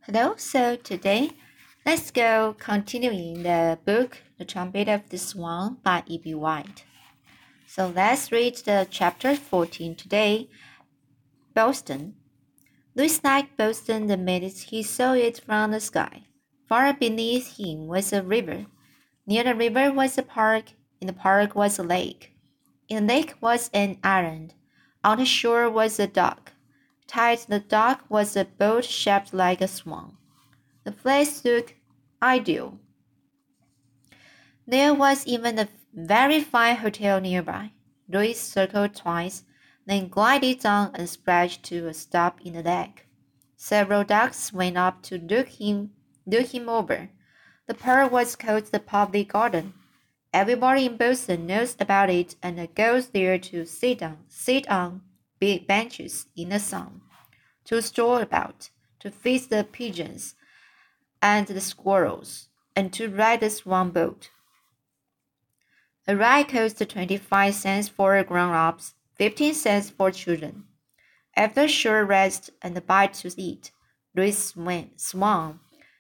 Hello, so today let's go continuing the book The Trumpet of the Swan by E.B. White. So let's read the chapter 14 today. Boston. Louis liked Boston the minute he saw it from the sky. Far beneath him was a river. Near the river was a park. In the park was a lake. In the lake was an island. On the shore was a dock. Tied to the dock was a boat shaped like a swan. The place looked ideal. There was even a very fine hotel nearby. Louis circled twice, then glided down and splashed to a stop in the lake. Several ducks swam up to look him over. The park was called the Public Garden. Everybody in Boston knows about it and goes there to sit on big benches in the sun, to stroll about, to feed the pigeons and the squirrels, and to ride the swan boat. A ride costs 25 cents for grown-ups, 15 cents for children. After a short rest and a bite to eat, Louis swung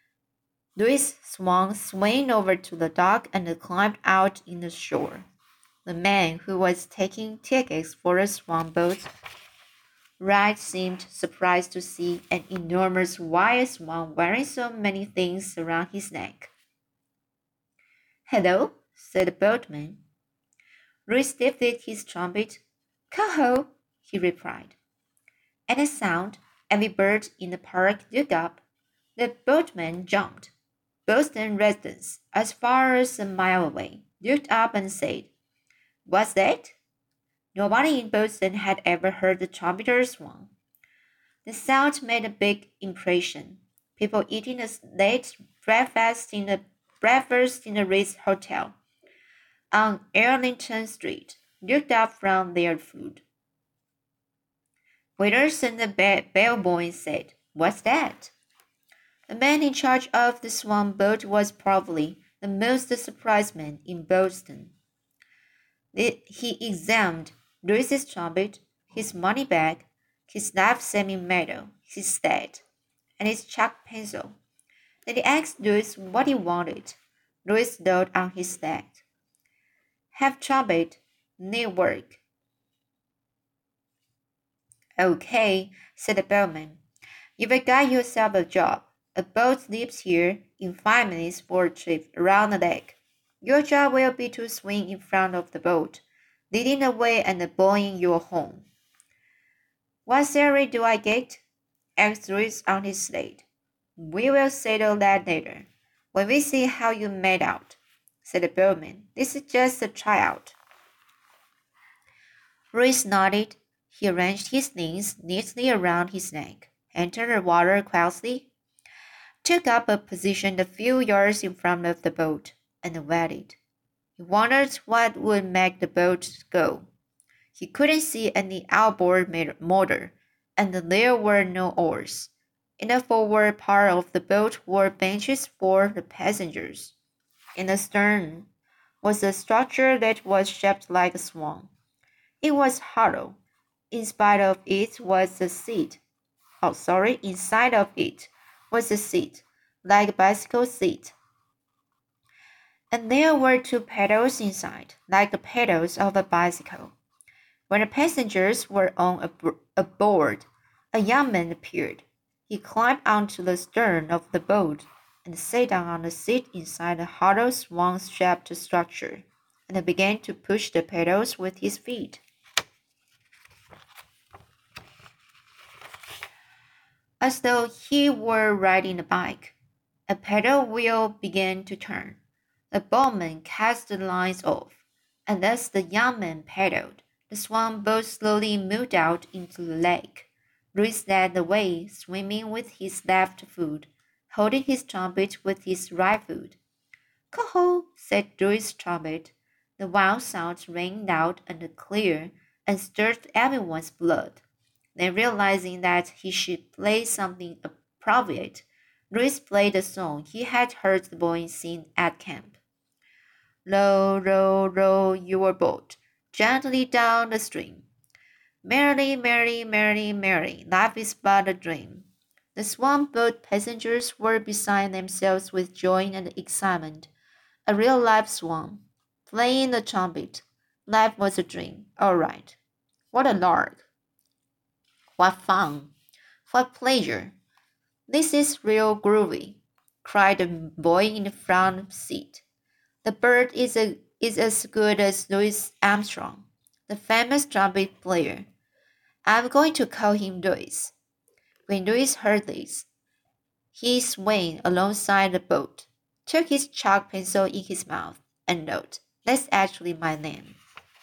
over to the dock and climbed out in the shore. The man who was taking tickets for a swan boat ride seemed surprised to see an enormous white swan wearing so many things around his neck. "Hello," said the boatman. Louis lifted his trumpet. "Coho," he replied. At the sound, every bird in the park looked up. The boatman jumped. Boston residents, as far as a mile away, looked up and said, "What's that?" Nobody in Boston had ever heard the trumpeter swan. The sound made a big impression. People eating a late breakfast in the Ritz Hotel on Arlington Street looked up from their food. Waiters and the bellboys said, "What's that?" The man in charge of the swan boat was probably the most surprised man in Boston. He examined Louis's trumpet, his money bag, his live semi-medal, his sled, and his chalk pencil. Then he asked Louis what he wanted. Louis rode on his sled. "Have trumpet, need work." "Okay," said the bellman. "You've got yourself a job. A boat leaves here in 5 minutes for a trip around the lake. Your job will be to swing in front of the boat, leading the way and blowing your horn." "What salary do I get?" asked Louis on his sled. "We will settle that later, when we see how you made out," said the bellman. "This is just a tryout." Louis nodded. He arranged his things neatly around his neck, entered the water quietly, took up a position a few yards in front of the boat, and waited. He wondered what would make the boat go. He couldn't see any outboard motor, and there were no oars. In the forward part of the boat were benches for the passengers. In the stern was a structure that was shaped like a swan. It was hollow. Inside of it was a seat, like a bicycle seat. And there were 2 pedals inside, like the pedals of a bicycle. When the passengers were aboard, a young man appeared. He climbed onto the stern of the boat and sat down on the seat inside the hollow swan-shaped structure, and began to push the pedals with his feet. As though he were riding a bike, a pedal wheel began to turn. The boatman cast the lines off, and as the young man paddled, the swan boat slowly moved out into the lake. Louis led the way, swimming with his left foot, holding his trumpet with his right foot. "Coho," said Louis' trumpet. The wild sound rang loud and clear and stirred everyone's blood. Then realizing that he should play something appropriate, Louis played the song he had heard the boys sing at camp. "Row, row, row your boat gently down the stream. Merrily, merrily, merrily, merrily, life is but a dream. The swan boat passengers were beside themselves with joy and excitement. A real live swan, playing the trumpet. Life was a dream, all right. What a lark! What fun! What pleasure! This is real groovy, cried the boy in the front seat. The bird is as good as Louis Armstrong, the famous trumpet player. I'm going to call him Louis. When Louis heard this, he swam alongside the boat, took his chalk pencil in his mouth, and wrote, "That's actually my name."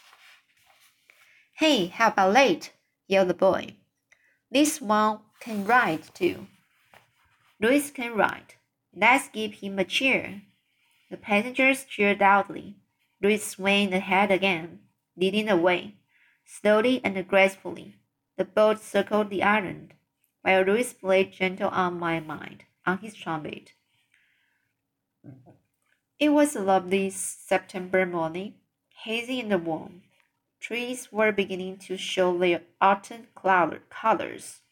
"Hey, how about late?" yelled the boy. "This one can ride, too." "Louis can ride. Let's give him a cheer." The passengers cheered loudly. Louis swam ahead again, leading the way. Slowly and gracefully, the boat circled the island, while Louis played Gentle on My Mind on his trumpet. It was a lovely September morning, hazy and warm. Trees were beginning to show their autumn colors.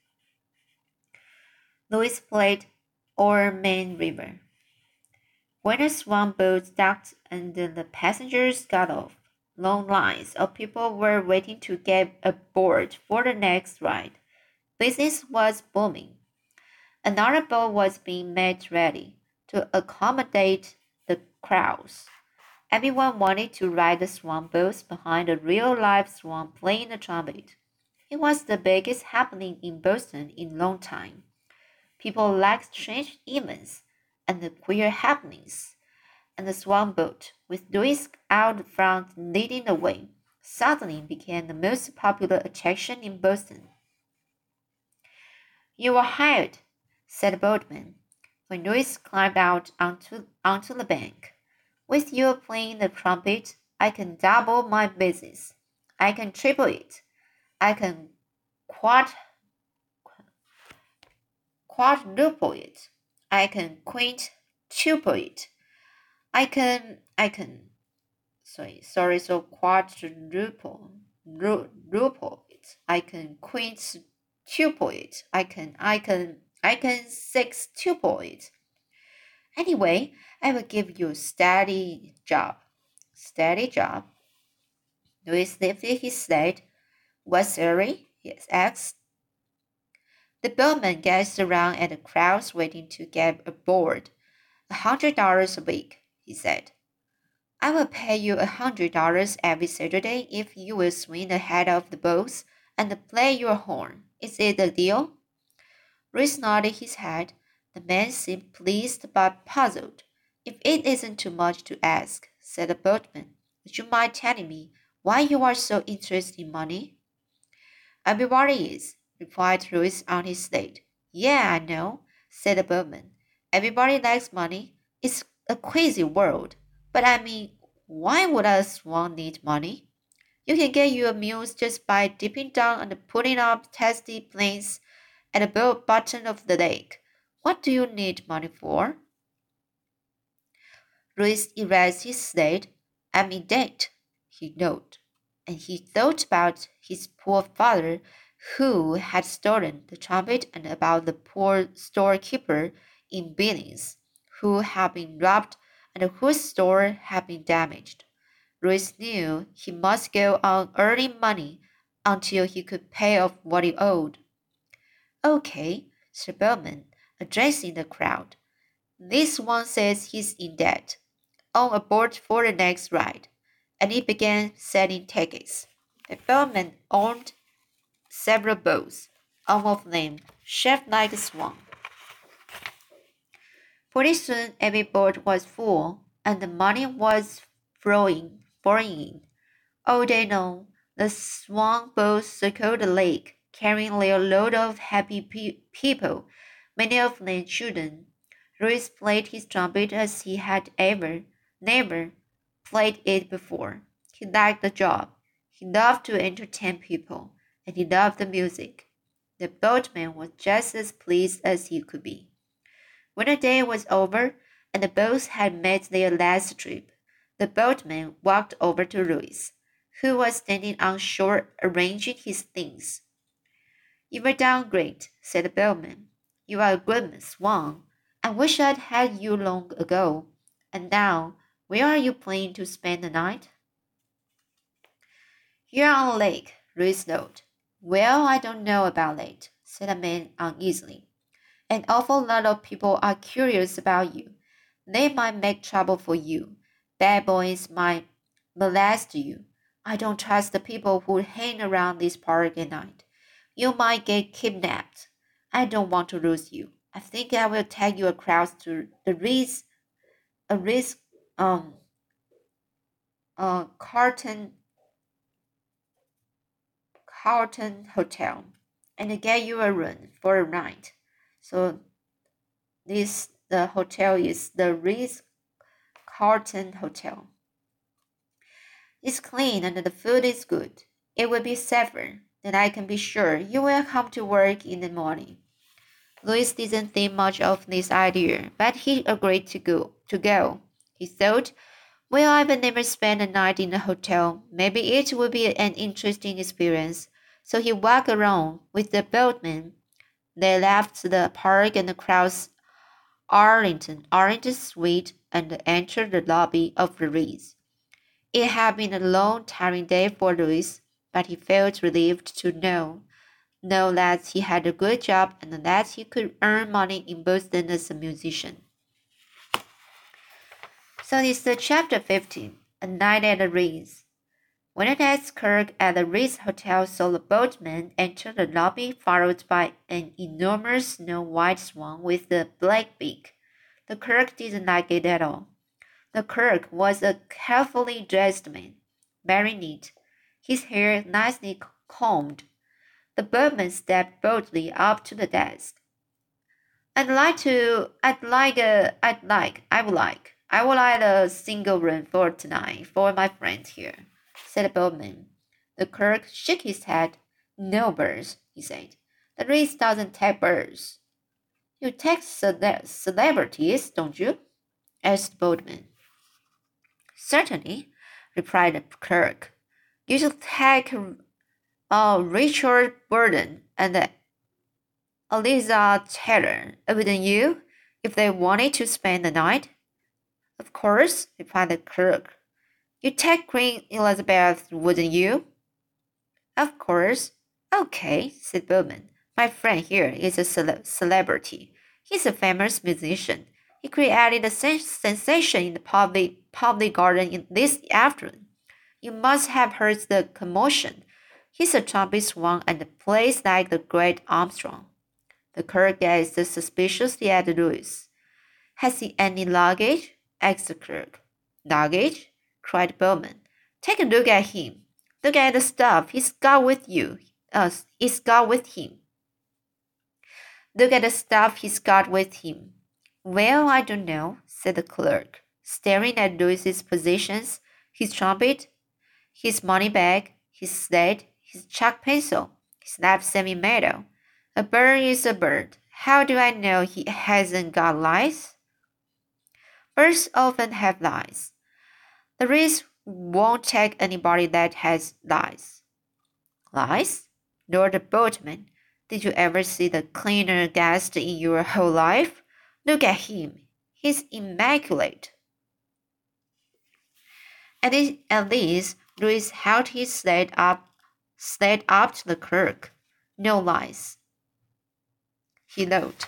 Louis played O'er Main River. When a swan boat docked and the passengers got off, long lines of people were waiting to get aboard for the next ride. Business was booming. Another boat was being made ready to accommodate the crowds. Everyone wanted to ride the swan boats behind a real live swan playing the trumpet. It was the biggest happening in Boston in a long time. People liked strange events and the queer happenings, and the swan boat, with Louis out front leading the way, suddenly became the most popular attraction in Boston. "You are hired," said the boatman, when Louis climbed out onto the bank. "With you playing the trumpet, I can double my business. I can triple it. I can quad quadruple it. I can quintuple it. I can so quadruple it. I can quintuple it. I can sextuple it. Anyway, I will give you a steady job." Steady job. Louis lifted his sled. "What salary?" he asked. The boatman gazed around at the crowds waiting to get aboard. $100 a week, he said. "I will pay you $100 every Saturday if you will swing ahead of the boats and play your horn. Is it a deal?" Reese nodded his head. The man seemed pleased but puzzled. "If it isn't too much to ask," said the boatman, "would you mind telling me why you are so interested in money?" "Everybody is," replied Louis on his slate. "Yeah, I know," said the boatman. "Everybody likes money. It's a crazy world. But I mean, why would a swan need money? You can get your meals just by dipping down and putting up tasty plains at the bottom of the lake. What do you need money for?" Louis erased his slate. "I'm in debt," he noted, and he thought about his poor father who had stolen the trumpet and about the poor storekeeper in Billings who had been robbed and whose store had been damaged. Louis knew he must go on earning money until he could pay off what he owed. "Okay," said Bellman, addressing the crowd. "This one says he's in debt. On aboard for the next ride." And he began selling tickets. The bellman owned several boats, all of them shaped like a swan. Pretty soon every boat was full, and the money was flowing in. All day long, the swan boats circled the lake, carrying their load of happy people, many of them children. Louis played his trumpet as he had never played it before. He liked the job. He loved to entertain people, and he loved the music. The boatman was just as pleased as he could be. When the day was over and the boats had made their last trip, the boatman walked over to Louis, who was standing on shore arranging his things. "You've done great," said the bellman. You are a good swan. I wish I'd had you long ago. And now, where are you planning to spend the night? Here on the lake, Louis nodded. Well, I don't know about it, said the man uneasily. An awful lot of people are curious about you. They might make trouble for you. Bad boys might molest you. I don't trust the people who hang around this park at night. You might get kidnapped. I don't want to lose you. I think I will take you across to the Ritz um Carlton Hotel and get you a room for a night. So the hotel is the Ritz Carlton Hotel. It's clean and the food is good. It will be safer. Then I can be sure you will come to work in the morning. Louis didn't think much of this idea, but he agreed to go. He thought, well, I've never spent a night in a hotel. Maybe it would be an interesting experience. So he walked around with the boatman. They left the park and crossed Arlington Street and entered the lobby of the Ritz. It had been a long, tiring day for Louis, but he felt relieved to know that he had a good job and that he could earn money in Boston as a musician. So this is chapter 15, A Night at the Ritz. When the next clerk at the Ritz Hotel saw the boatman enter the lobby followed by an enormous snow-white swan with a black beak, the clerk didn't like it at all. The clerk was a carefully dressed man, very neat, his hair nicely combed. The boatman stepped boldly up to the desk. I would like a single room for tonight for my friend here, said the boatman. The clerk shook his head. No birds, he said. The Ritz doesn't take birds. You take celebrities, don't you? Asked the boatman. Certainly, replied the clerk. You should take Richard Burton and Eliza Taylor, wouldn't you, if they wanted to spend the night? Of course, replied the clerk. You'd take Queen Elizabeth, wouldn't you? Of course. Okay, said Bowman. My friend here is a celebrity. He's a famous musician. He created a sensation in the public garden this afternoon. You must have heard the commotion. He's a trumpet swan and plays like the great Armstrong. The clerk gazed suspiciously at Louis. Has he any luggage? Asked the clerk. Luggage? Cried Bowman. Take a look at him. Look at the stuff he's got with him. Look at the stuff he's got with him. Well, I don't know, said the clerk, staring at Louis's possessions, his trumpet, his money bag, his slate, his chalk pencil, his life-saving medal. A bird is a bird. How do I know he hasn't got lice? Birds often have lice. The Ritz won't take anybody that has lice. Lice? Roared the boatman. Did you ever see the cleaner guest in your whole life? Look at him. He's immaculate. At least, Louis held his slate up to the clerk. No lice. He wrote.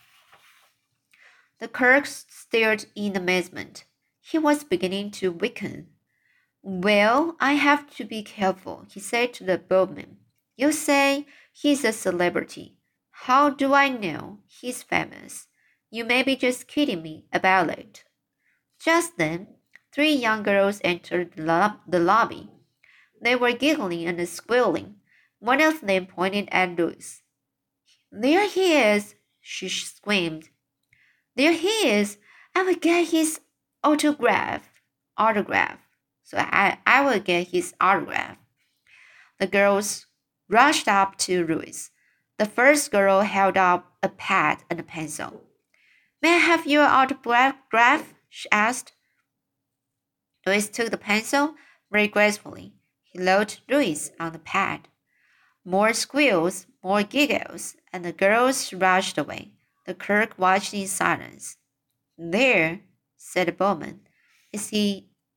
The clerk stared in amazement. He was beginning to weaken. Well, I have to be careful, he said to the boatman. You say he's a celebrity. How do I know he's famous? You may be just kidding me about it. Just then, 3 young girls entered the lobby. They were giggling and squealing. One of them pointed at Louis. There he is, she screamed. There he is. I will get his autograph. So I will get his autograph. The girls rushed up to Louis. The first girl held up a pad and a pencil. May I have your autograph? She asked. Louis took the pencil very gracefully. He wrote Louis on the pad. More squeals, more giggles, and the girls rushed away. The clerk watched in silence. There, said the boatman. Is he a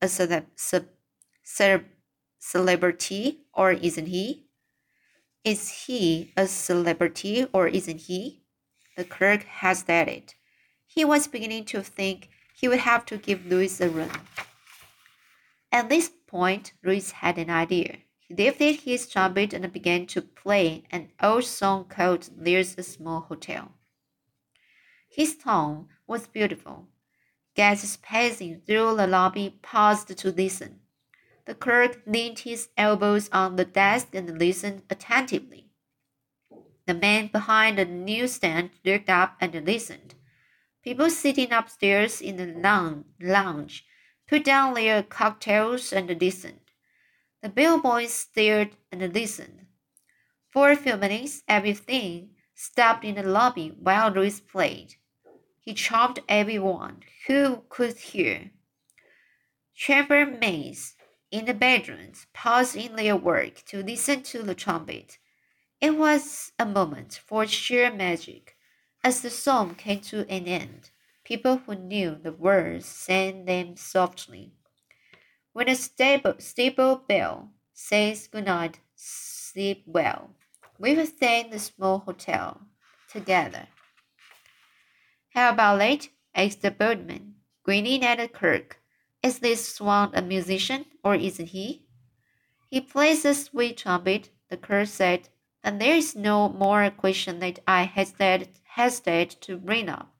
celebrity or isn't he? Is he a celebrity or isn't he? The clerk hesitated. He was beginning to think he would have to give Louis a run. At this point, Louis had an idea. He lifted his trumpet and began to play an old song called There's a Small Hotel. His tone was beautiful. Guests passing through the lobby paused to listen. The clerk leaned his elbows on the desk and listened attentively. The man behind the newsstand looked up and listened. People sitting upstairs in the lounge put down their cocktails and listened. The bellboys stared and listened. For a few minutes, everything stopped in the lobby while Louis played. He charmed everyone who could hear. Chambermaids in the bedrooms paused in their work to listen to the trumpet. It was a moment for sheer magic. As the song came to an end, people who knew the words sang them softly. When a stable bell says goodnight, sleep well. We will thank the small hotel together. How about it? Asked the boatman, grinning at the clerk. Is this swan a musician, or isn't he? He plays a sweet trumpet, the clerk said, and there is no more question that I hesitate to bring up.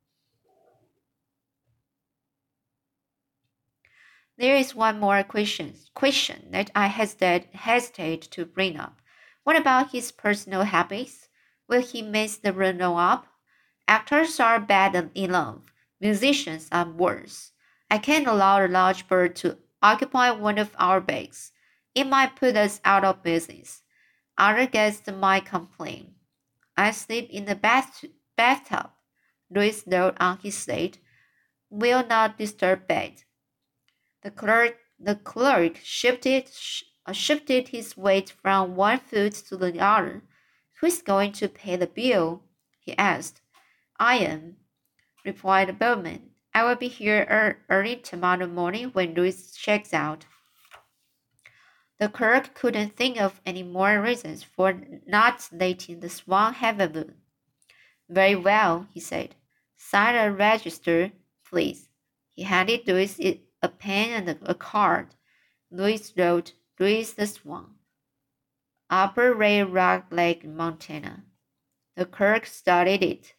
There is one more question that I hesitate to bring up. What about his personal habits? Will he mess the run up? Actors are bad enough. Musicians are worse. I can't allow a large bird to occupy one of our bags. It might put us out of business. Other guests might complain. I sleep in the bathtub. Louis wrote on his slate, will not disturb bed. The clerk shifted his weight from one foot to the other. Who's going to pay the bill? He asked. I am, replied the boatman. I will be here early tomorrow morning when Louis checks out. The clerk couldn't think of any more reasons for not letting the swan have a moon. Very well, he said. Sign a register, please. He handed Louis a pen and a card. Louis wrote, Louis the Swan, Upper Ray Rock Lake, Montana. The clerk studied it.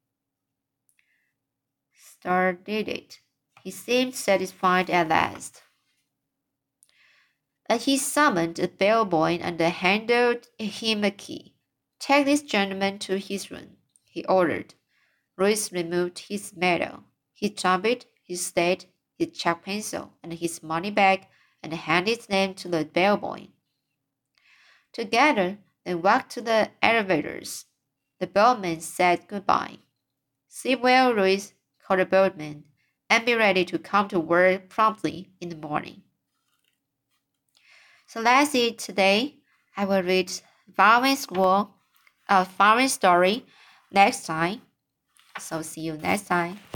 He seemed satisfied at last. He summoned a bellboy and handed him a key. Take this gentleman to his room, he ordered. Louis removed his medal, his trumpet, his slate, his chalk pencil, and his money bag, and handed them to the bellboy. Together, they walked to the elevators. The boatman said goodbye. Sleep well, Louis, called the boatman, and be ready to come to work promptly in the morning. So that's it today. I will read following story next time. So see you next time.